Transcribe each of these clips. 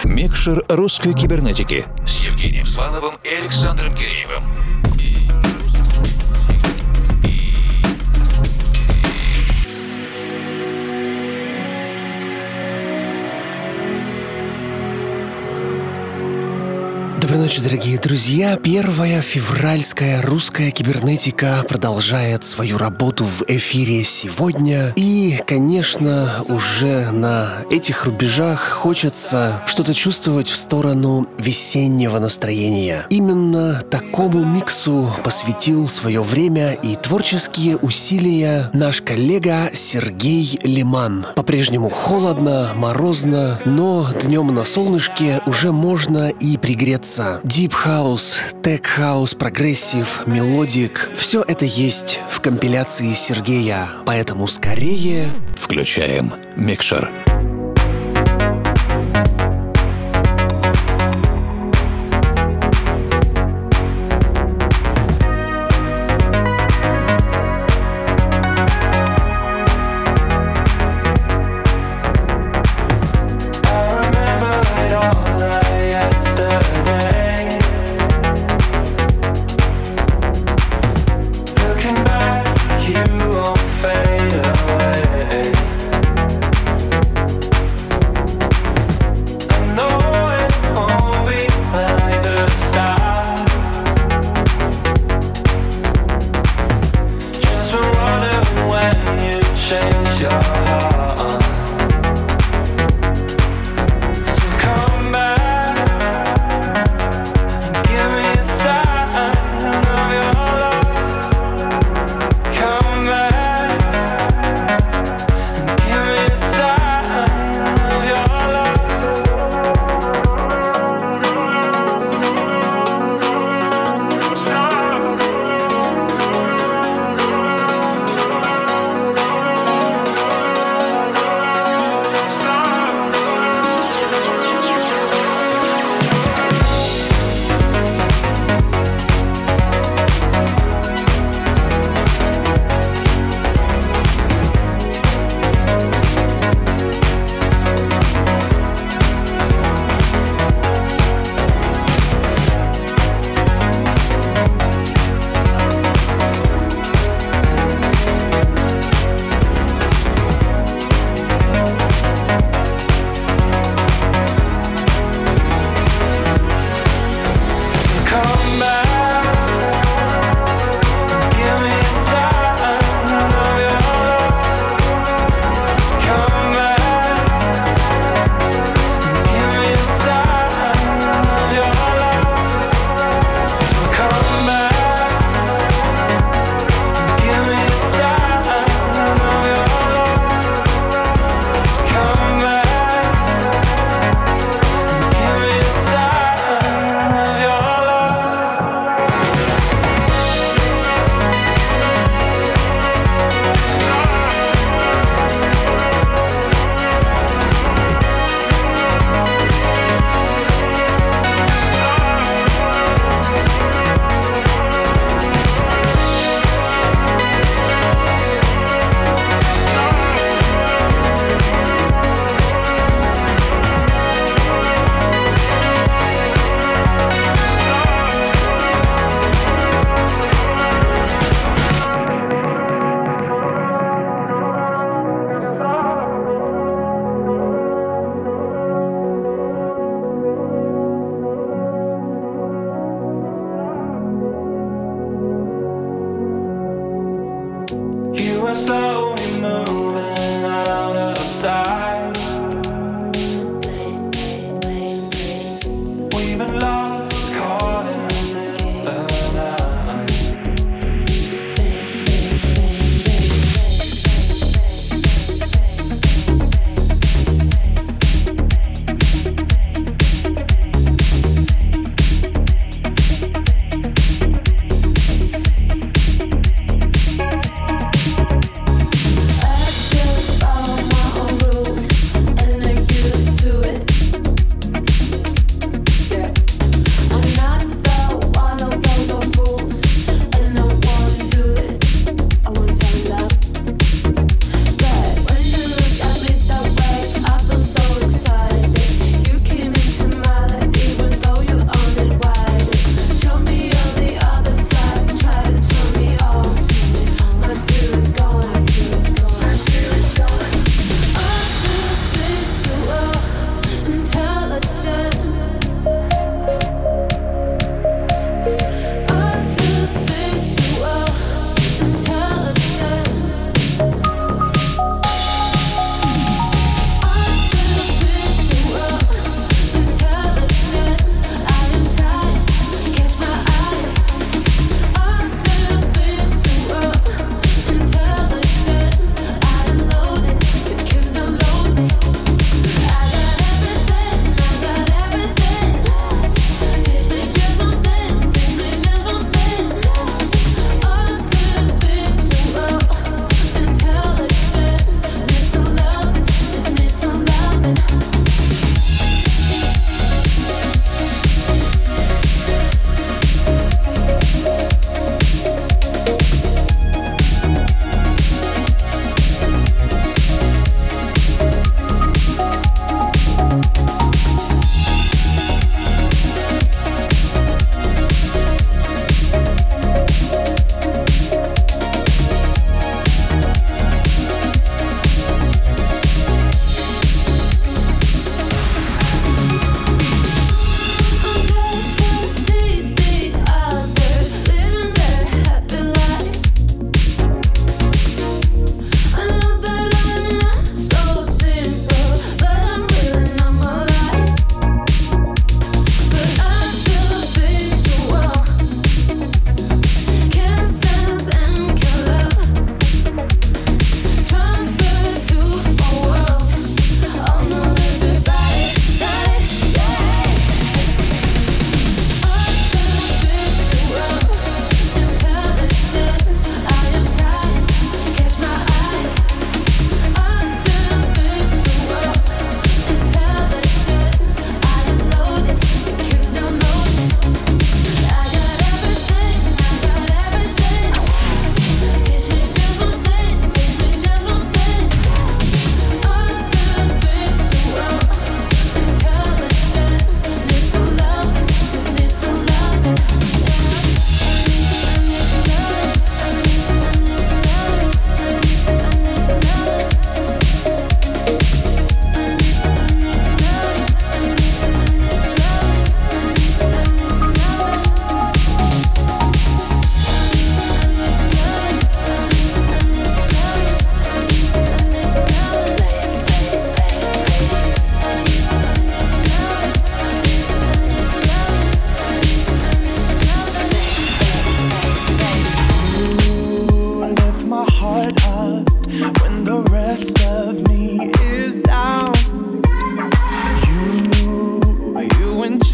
Микшер русской кибернетики с Евгением Сваловым и Александром Киреевым. Доброй ночи, дорогие друзья. Первая февральская русская кибернетика продолжает свою работу в эфире сегодня. И, конечно, уже на этих рубежах хочется что-то чувствовать в сторону весеннего настроения. Именно такому миксу посвятил свое время и творческие усилия наш коллега Сергей Лиман. По-прежнему холодно, морозно, но днем на солнышке уже можно и пригреться. Deep House, Tech House, прогрессив, мелодик — все это есть в компиляции Сергея. Поэтому скорее включаем микшер. You won't fade away.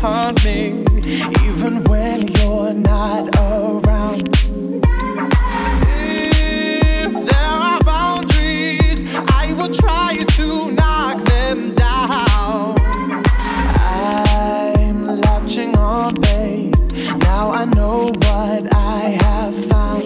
on me, even when you're not around. If there are boundaries, I will try to knock them down. I'm latching on, babe. Now I know what I have found.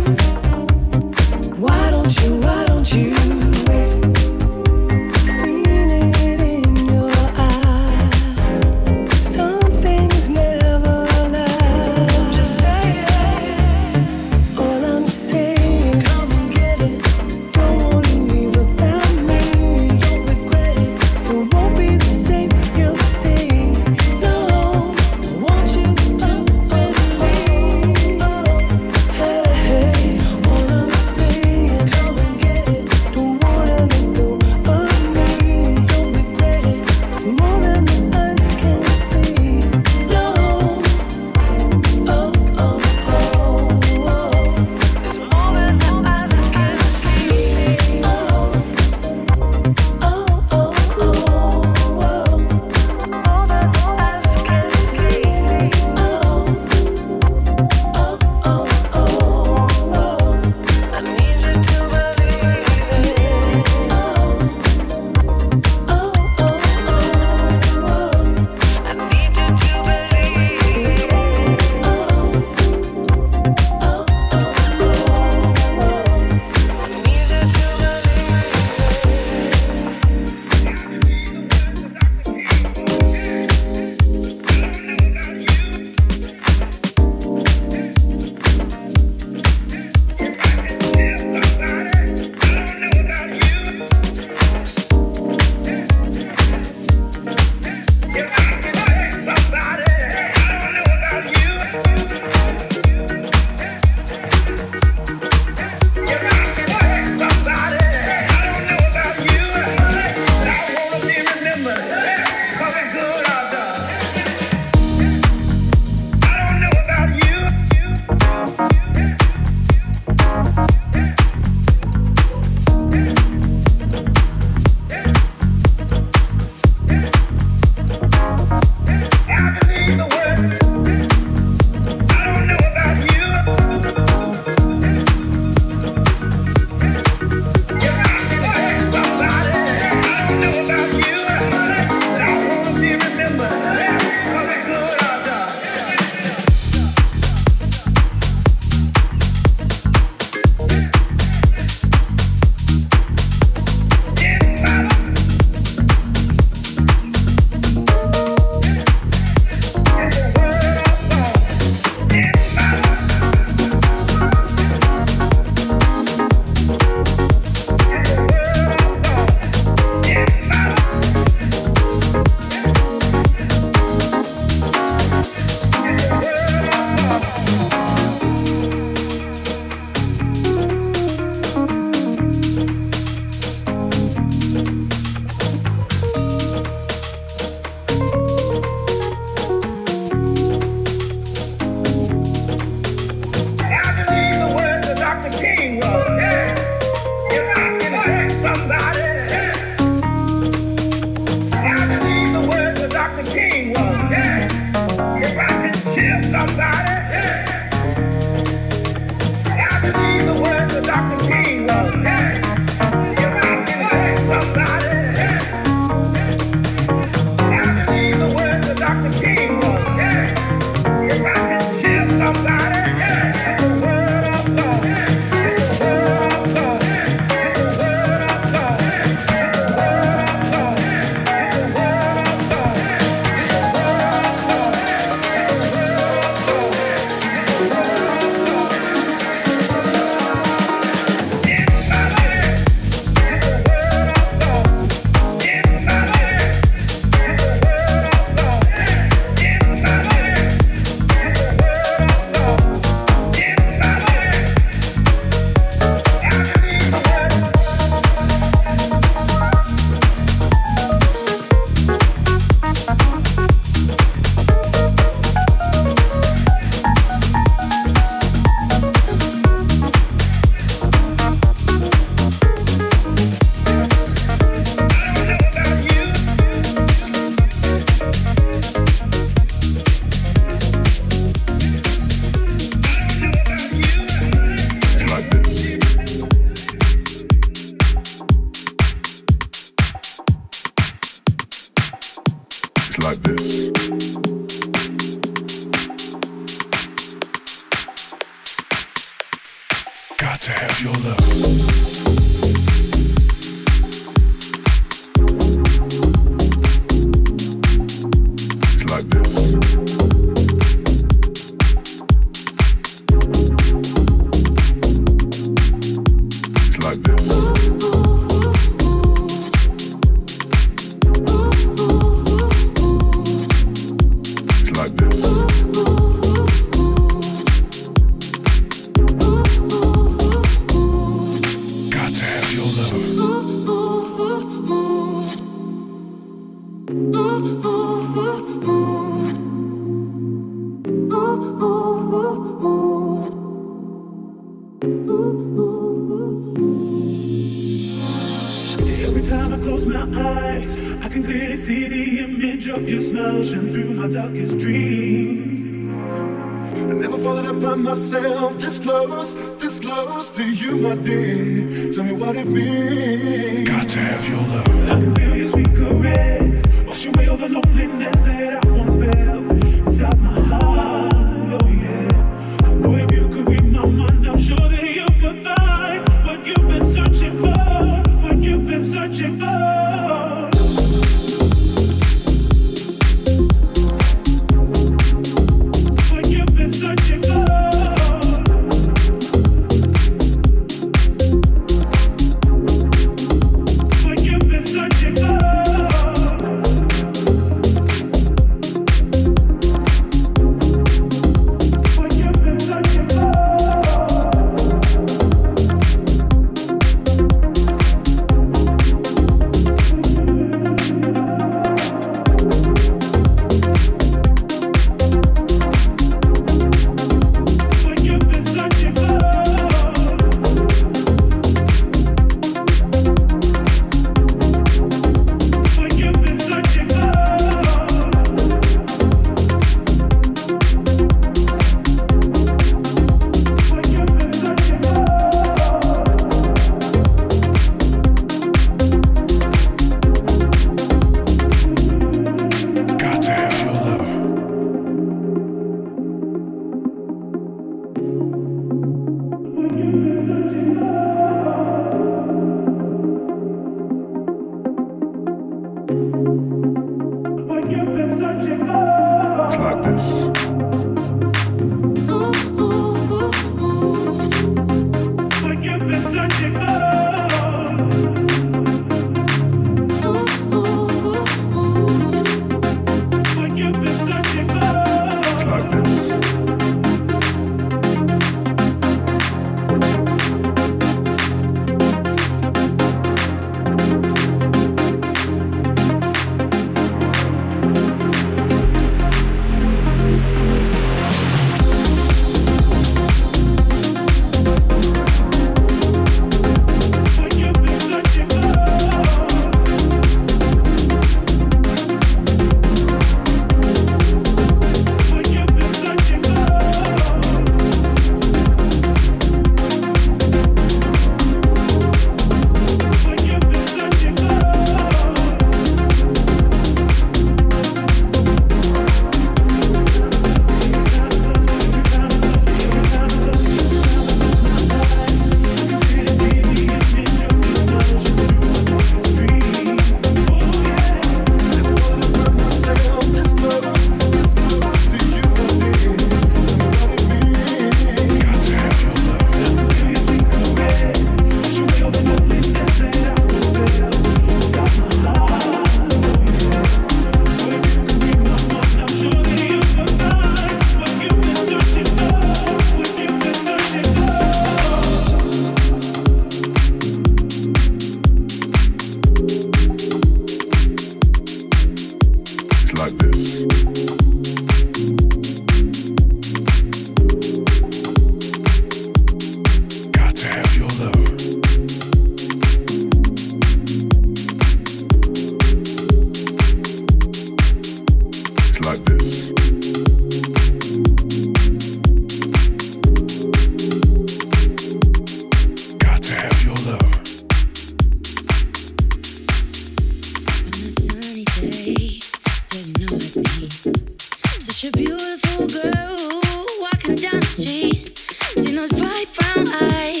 Such a beautiful girl walking down the street. See those bright brown eyes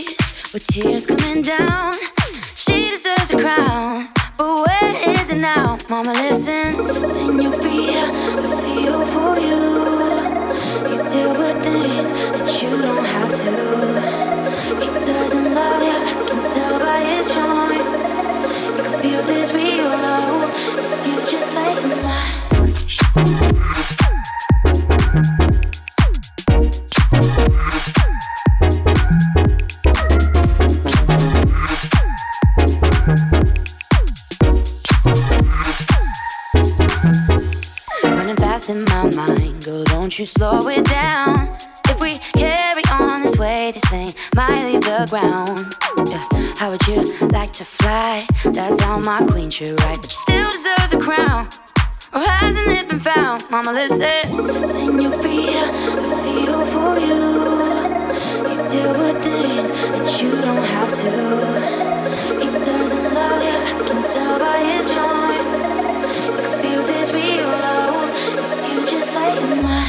with tears coming down. She deserves a crown, but where is it now? Mama, listen, señorita, I feel for you. You deal with things that you don't have to. He doesn't love you, I can tell by his charm. You can feel this real love if you just lay in my in my mind, girl, don't you slow it down. If we carry on this way, this thing might leave the ground. Yeah. How would you like to fly? That's how my queen should ride. But you still deserve the crown, or hasn't it been found? Mama, listen, señorita, I feel for you. You deal with things that you don't have to. He doesn't love you, I can tell by his charm. You can feel this real love if you just lay in my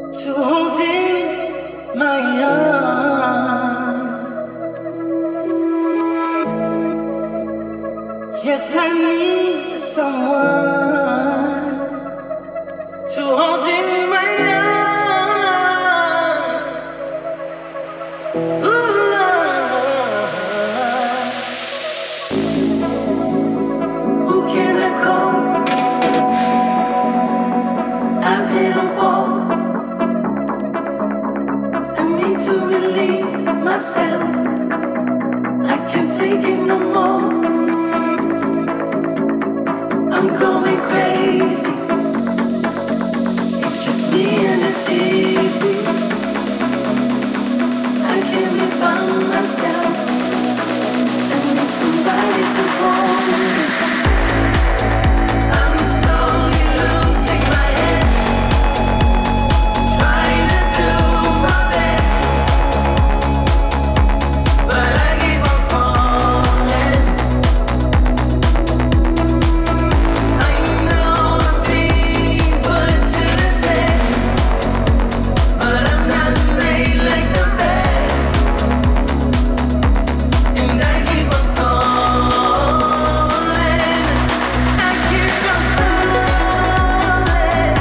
to hold in my arms. Yes, I need someone to hold in my arms. Ooh, Lord. Who can I call? I've hit a wall. I need to relieve myself. I can't take it no more. I'm going crazy. It's just me and the TV. I can't be by myself. I need somebody to hold me. I'm slowly losing my head, trying to do my best, but I keep on falling. I know I'm being put to the test, but I'm not made like the rest, and I keep on stalling. I keep on stalling.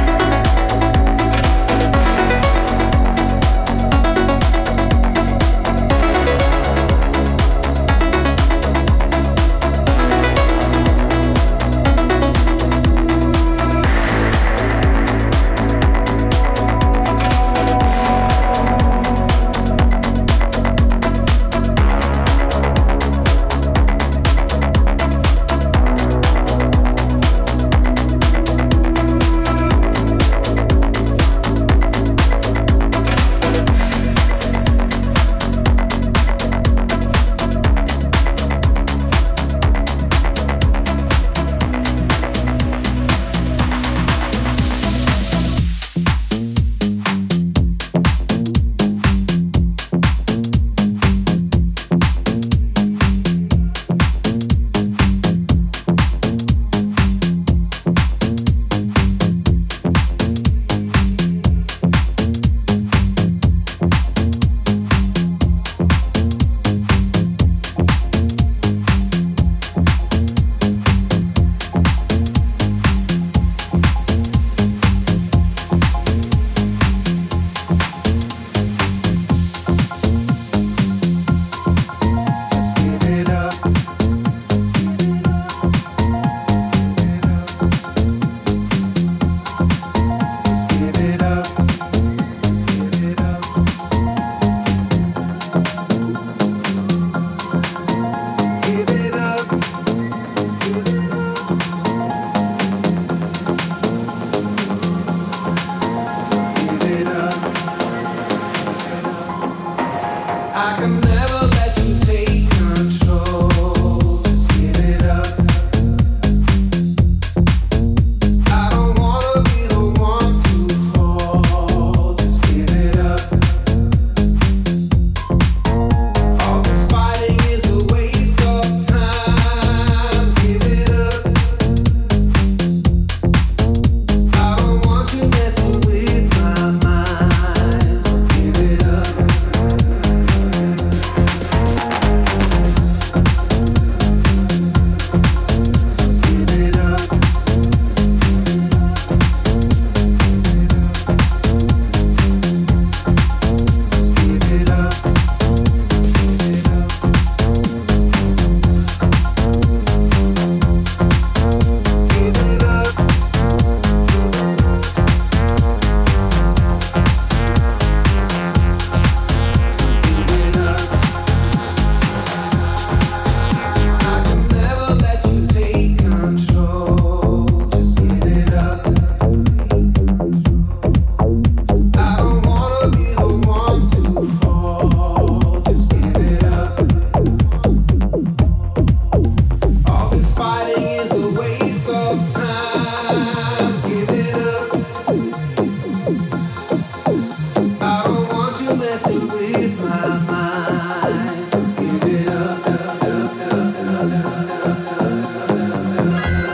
I can never let you take control. Just give it up. I don't wanna be the one to fall. Just give it up. All this fighting is a waste of time. Give it up. I don't want you messing with my mind. So give it up.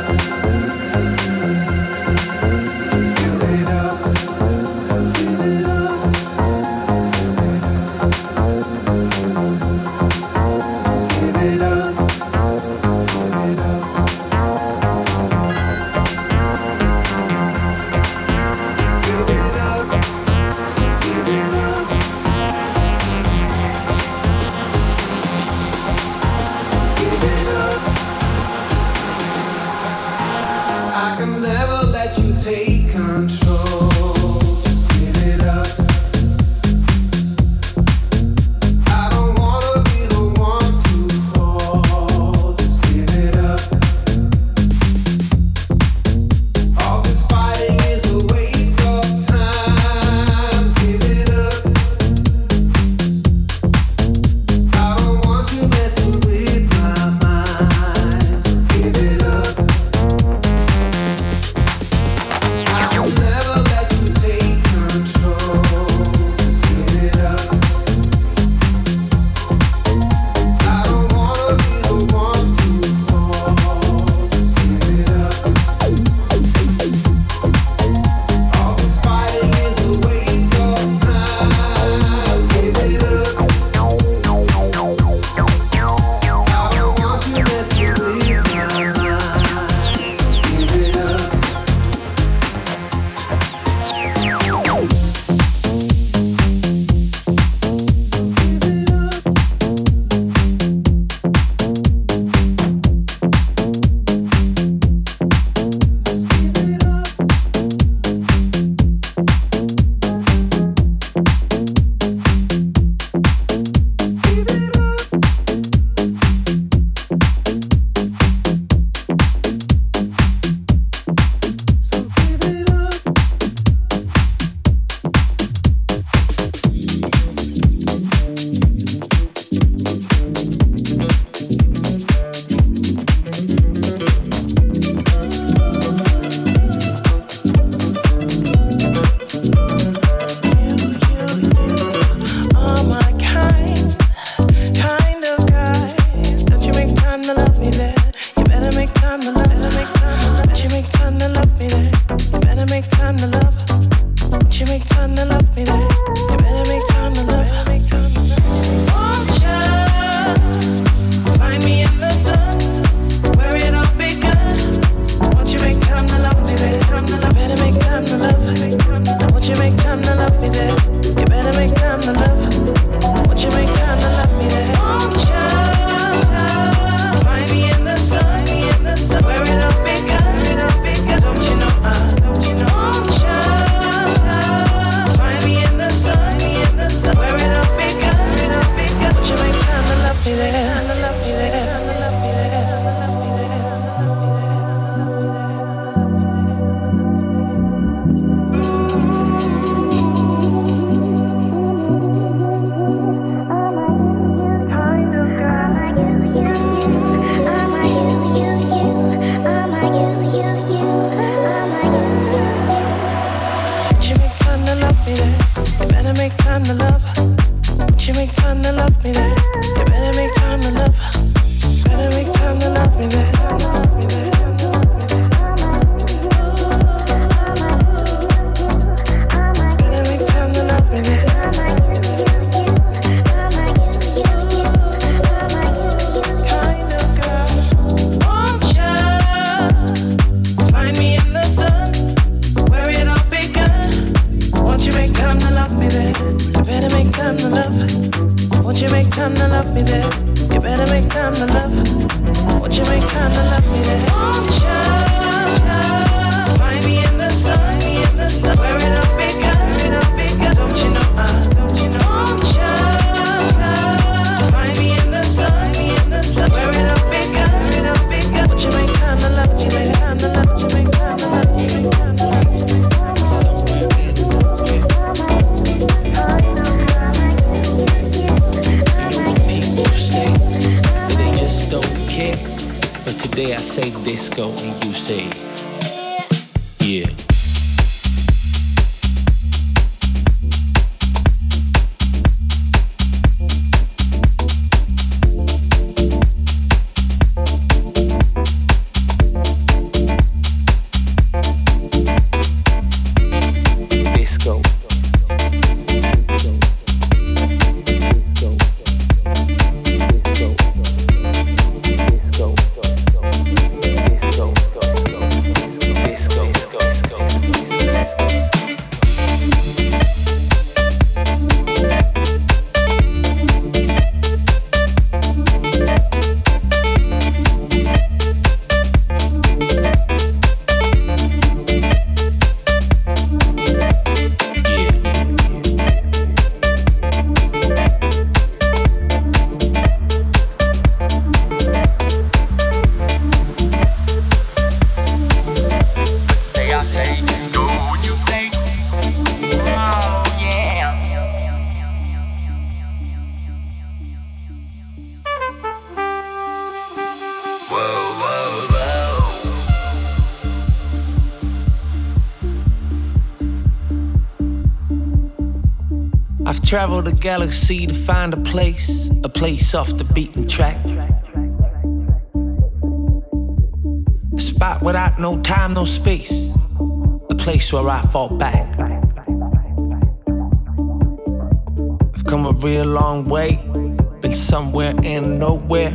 Give it up. make time to love me then. You better make time to love. Won't you find me in the sun where it all begun? Won't you make time to love me then? You better make time to love. Won't you make time to love me then? You better make time to love. Won't you make time to love me then? Won't you find me in the sun where it all begun? Don't you know? Won't you find me in the sun where it all begun? Won't you make time to love me there? Make time to love. Won't you make time to love me there? You better make time to love. Better make time to love me there. Better make time to love me there. Kind of girl. Won't you find me in the sun where it all begun? Won't you make time to love me there? You better make time to love. Won't you make time to love me there? You better make time to love. Won't you make time to love me there? Won't you find me in the sun where it all begun? Don't you know? Won't you find me in the sun where it all begun? Won't you make time to love me there? Won't you make time to love me? But today I say disco and you say, yeah. Travel the galaxy to find a place off the beaten track. A spot without no time, no space. A place where I fall back. I've come a real long way, been somewhere and nowhere.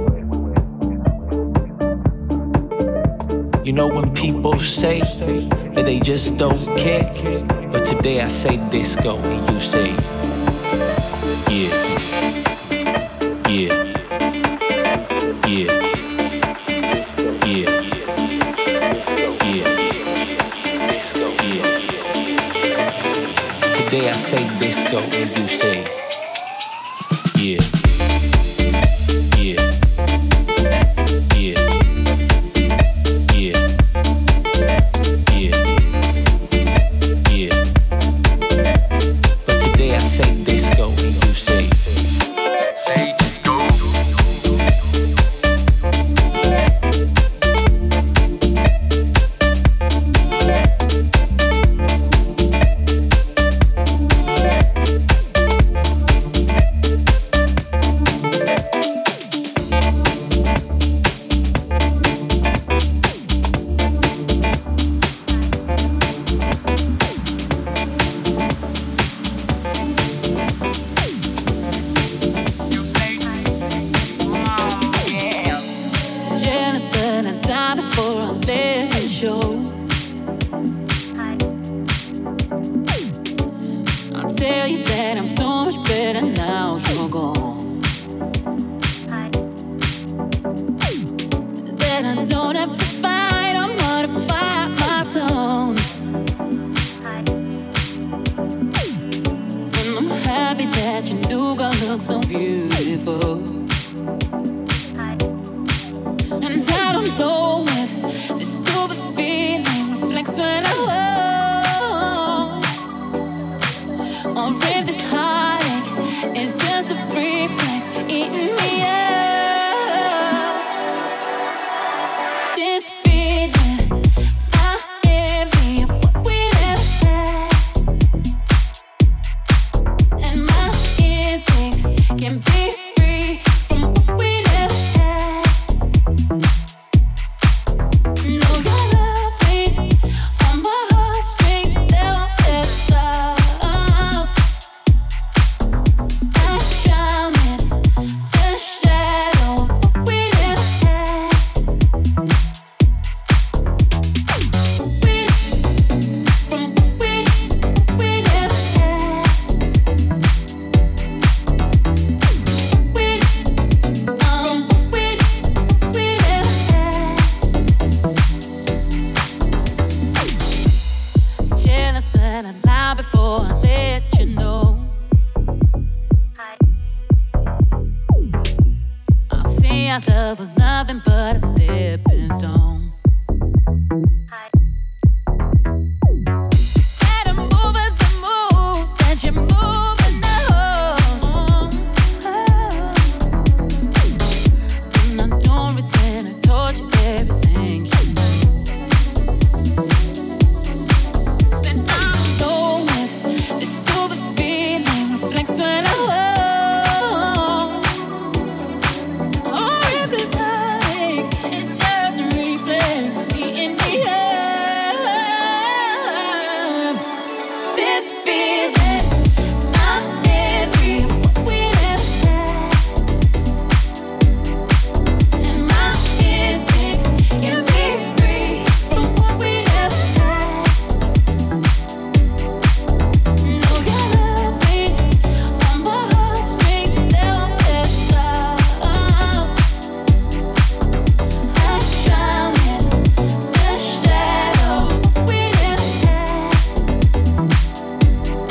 You know when people say that they just don't care, but today I say disco and you say, yeah, yeah, yeah, yeah, yeah, disco, yeah. Today I say disco and you say, yeah, yeah, yeah. I'll tell you that I'm so much better now you're gone. That I don't have to fight or modify my tone. And I'm happy that your new girl looks so beautiful. And I don't know if this stupid feeling reflects when I walk, or if this heartache is just a reflex eating me up. This feeling, I envy of what we never had, and my instincts can be free from what we never had. No, your love beats on my heartstrings, they won't ever stop. I'm drowning in the shadow of what we never had. From what we never had. From what we never had. Jealous, but I lie before I let you know. I see our love was nothing but a stepping stone. And I'm moving the move that you're moving now. And I don't resent, I told you everything you know. Then I don't know if this stupid feeling reflects when I walk, or if this heartache is just a reflex eating me up. This feeling, I envy what we never had, and my instincts can be free from what we never had. No, your love beats on my heartstrings, they won't ever stop. I'm drowning in the shadow of what we never had.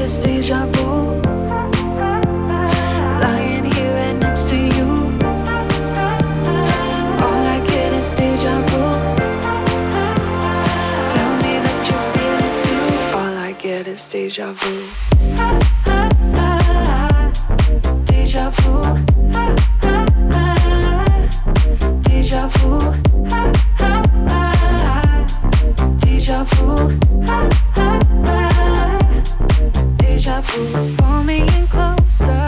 is deja vu. Lying here right next to you. All I get is deja vu. Tell me that you feel it too. All I get is deja vu. Deja vu. Deja vu. Deja vu. Deja vu. Pull me in closer.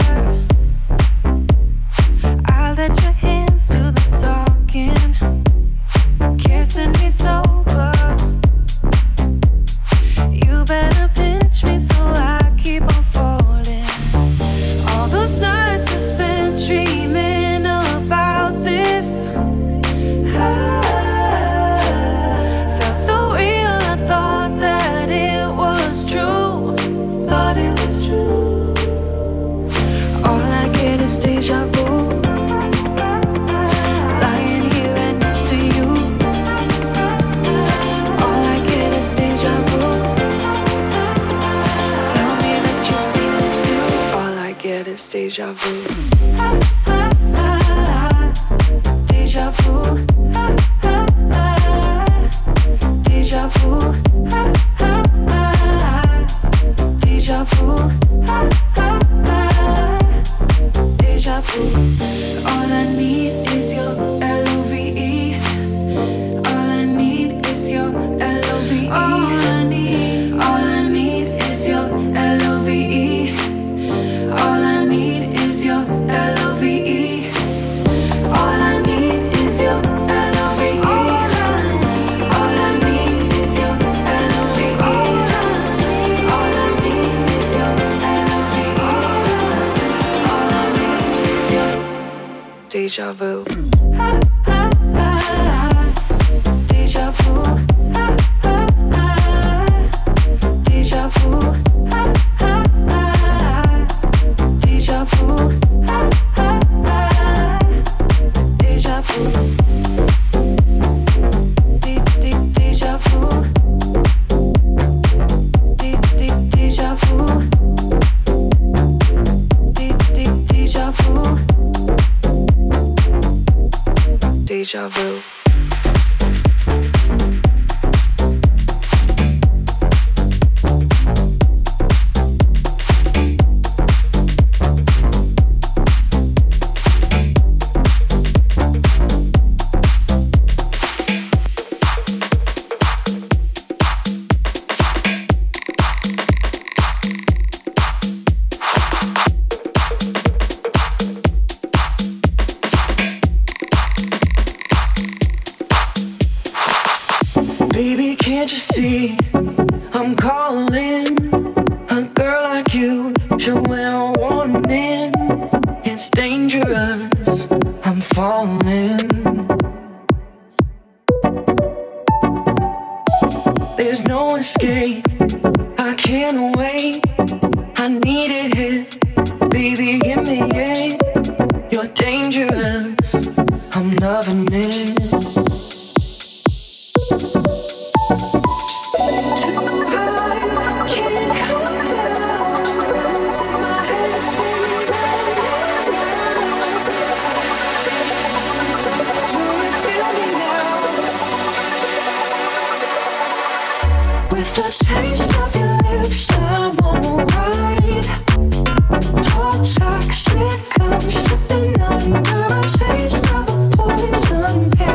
I'll let your hands do the talking. Kissing me sober. You better pinch me so I keep on falling. All those nights I spent dreaming about this. Felt so real, I thought that it was true. Thought it was true. All I get is deja vu. Lying here right next to you. All I get is deja vu. Tell me that you feel it too. All I get is deja vu. Deja vu. Deja vu. Deja vu. Deja vu. All I need is your L-O-V-E. All I need is your L-O-V-E. All I need is your L-O-V-E. All I need is your L-O-V-E. All I need is your L-O-V-E. All I need is your L-O-V-E. All I need is your L-O-V-E. All I need is your deja vu. Deja vu. Deja vu. Deja vu. Deja vu. Deja vu. Deja vu. Deja vu. Deja vu. Baby, can't you see I'm calling? A girl like you should wear a warning. It's dangerous, I'm falling. There's no escape, I can't wait. I need it here, baby, give me it. You're dangerous, I'm loving it. With the taste of your lips, I'm on the ride. Hot toxic, I'm slipping under a taste of a poison pill.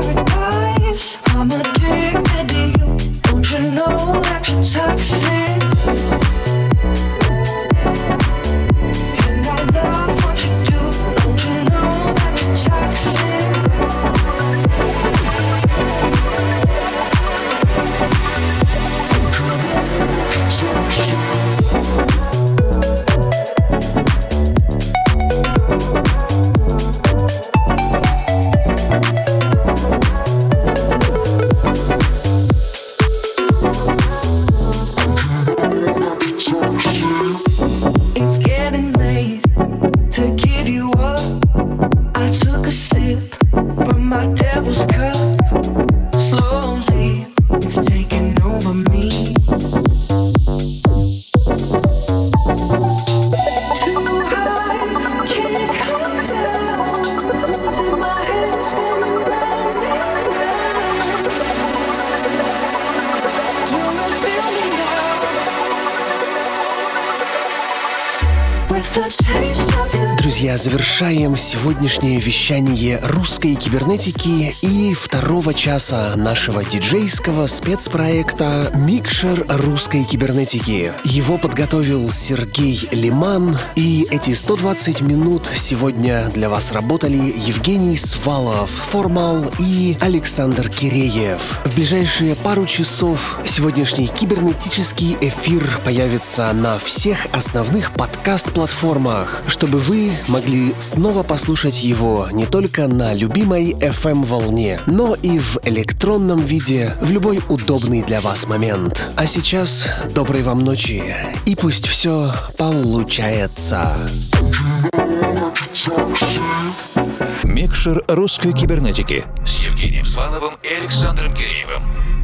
Друзья, завершаем сегодняшнее вещание русской кибернетики и второго часа нашего диджейского спецпроекта «Микшер русской кибернетики». Его подготовил Сергей Лиман, и эти 120 минут сегодня для вас работали Евгений Свалов, Формал и Александр Киреев. В ближайшие пару часов сегодняшний кибернетический эфир появится на всех основных подкаст-платформах, чтобы вы могли снова послушать его не только на любимой FM-волне, но и в электронном виде в любой удобный для вас момент. А сейчас доброй вам ночи, и пусть все получается. Микшер русской кибернетики с Евгением Сваловым и Александром Киреевым.